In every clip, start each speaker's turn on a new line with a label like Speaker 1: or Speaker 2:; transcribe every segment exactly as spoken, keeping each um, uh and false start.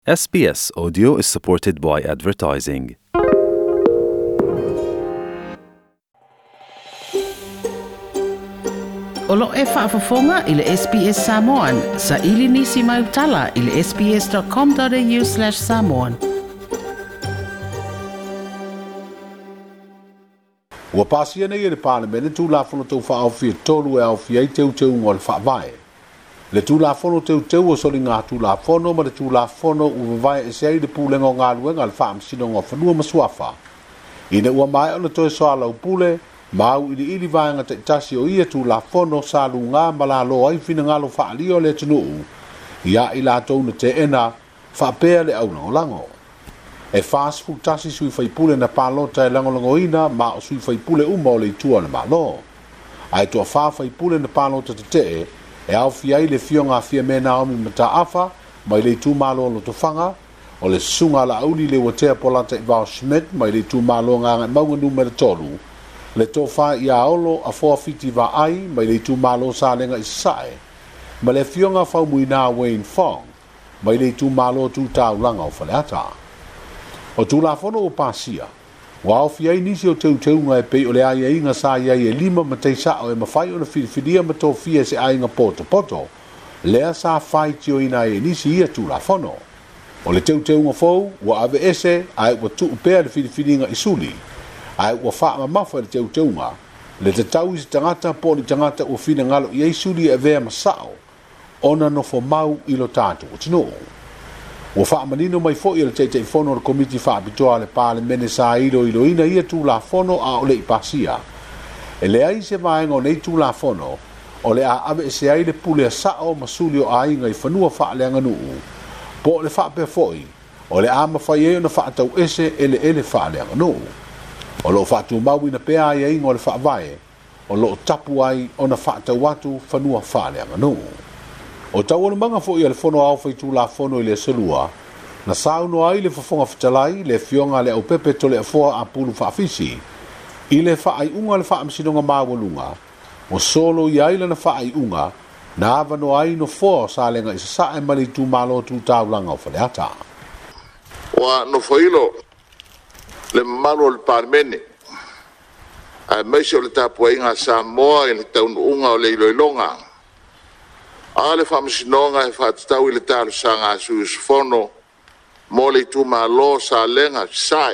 Speaker 1: S B S Audio is supported by advertising.
Speaker 2: Olo e whaafafonga i le S B S Samoan. Sa ili nisi mai utala i le sbs.com.au slash Samoan.
Speaker 3: Ua pasia nei e le Parliament tu la fono tau whaawhia tolu e au fia i teu teu ngol whaavae. Le tu la fono teu teu o soli ngā tu la fono ma le tu la fono ua vai e sei le pūlenga o ngā luenga le whaam sino ngā whanua masuafa. Ina ua mai o le toe soa lau pule, mau ili ili vaenga te tasi o ia tu la fono sa lu ngā malalo ai fina ngalo whaalio le tunuu. Ia i la tau na te ena whaapea le au lango lango. E fast food tasi sui whaipule na pālota e langolango ina ma o sui whaipule uma o le tua na malo. Ai tua wha whaipule na pālota te te e au fiai le fionga fia me Naomi mata afa mai le tu malo lo to fanga o le sunga la auli le watea polata i Val Schmidt mai le tu malo nganga maunga numero tolu le to fa ia olo a foa fiti va ai mai le tu malo sa lenga i sae ma le fionga fa muina Wayne Fong mai le tu malo tu tau langa o faleata o tu la fono o pasia wa au fiai nisi o teu teu ngai pe o le ai inga sa ia e lima ma te sa o e mawhai o na whiriwhiria ma tō fia se ai inga poto poto lea sa whai tio ina e nisi ia tu la fono o le teu teu nga fau wa ave ese ai wa tu upea le whiriwhiria inga isuli ai wa wha ma mawha le teu teu nga le te tau isi tangata po ni tangata o whina ngalo i isuli e vea masao ona no fo mau ilo tātu o tino Ua wha manino mai fo i le teite i fono le komiti wha apitoa le pāle mene sa ilo ilo ina ia tū la fono a o le i pasia. E le ai se maenga o nei tū la fono, o le a ave se ai le pule a sao masuli o a inga i whanua wha le anganuu. Po le wha pe foi, o le a mawhai e o na wha atau ese ele ele wha le anganuu. O lo wha tu mau ina pea ai inga o le wha vae, o lo tapu ai o na wha atau watu whanua wha le anganuu. O tau anu manga fo i le fono au fai tu la fono i le selua, na sauno ai le fafonga fitalai, le fionga le au pepe to le afoa a pulu whaafisi, i le wha ai unga le wha amsinonga mawalunga, o solo i aile na wha ai unga, na avano ai no foa sa lenga isa sa e mali tu malo tu tau langa o faleata.
Speaker 4: Wa no foilo, le malo le parmene, a meisi o le tapu inga sa moa i le taunu unga o le iloilonga, Ale whamasinonga e whatatau i le tālu sanga sui sufono mo le tu malo sa lenga sae.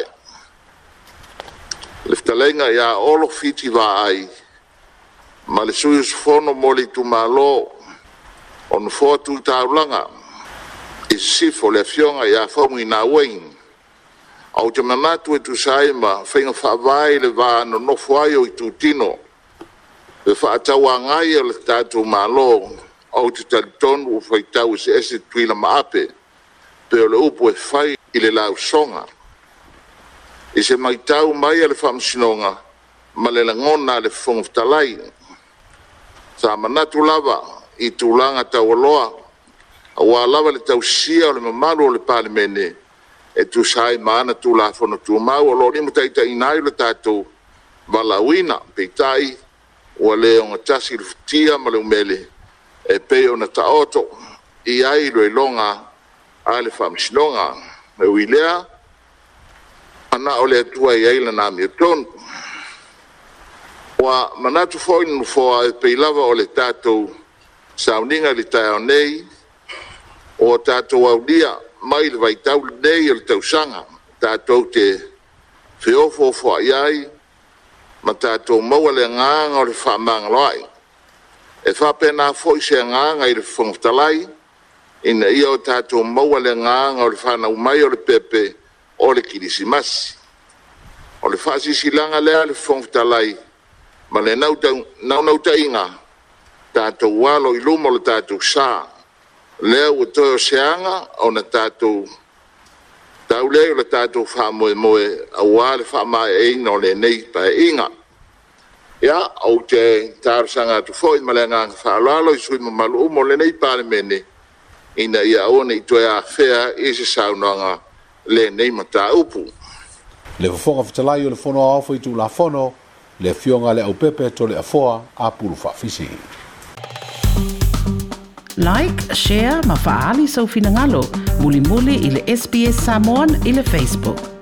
Speaker 4: Le ftalenga ia olo fiti wa ai ma le sui sufono mo le tu malo on fo tu taulanga i sifo le fionga ia fomu ina wain. Au te manatu e tu saima whainga whawai le wa no nofo ai o i tu tino. Le whaatau angai o le tātu malo au te talitonu o whaitau se ese tuila maape, pe o le upo e whai i le lau songa. I se maitau mai ale whamsinonga, ma le langona le whongoftalai. Sa manatu lava i tūlanga tau aloa, a wā lava le tau sia o le mamaru o le palimene, e tu sai maana tu la whono tu mau, o lo ni mutaita inai le tātou walawina, peitai, o le onga tasi le futia ma le umele, e peo na taoto i ai roi longa a le whamsinonga me uilea ana o le atua i aila na miotonu wa manatu foi nu foa e peilava o le tātou sauninga li tai au nei o tātou au dia mai le vaitau nei o le tausanga tātou te whiofo foa iai ma tātou maua le nganga o le whamanga loai e whapena foi se nganga i le whangtalai, ina ia o tātou maua le nganga o le whanau mai o le pepe o le kirisimasi. O le whasisilanga lea le whangtalai, ma le nau nau tainga, tātou walo i lumo le tātou sā, lea ua toi o seanga o na tātou tau leo le tātou whamoe moe a wale whamae eina o le nei pa inga. Ya, au te tārsanga tu foi malenga whaalalo i sui mamalu umo le nei parimene ina ia ona i toi a whea i se saunanga le nei mata upu.
Speaker 3: Le whafonga fitalai o le fono a awha i tu la fono, le fionga le au pepe to le afoa a pulu whaafisi.
Speaker 2: Like, share, ma faali sau finangalo. Muli muli i le S B S Samoan i le Facebook.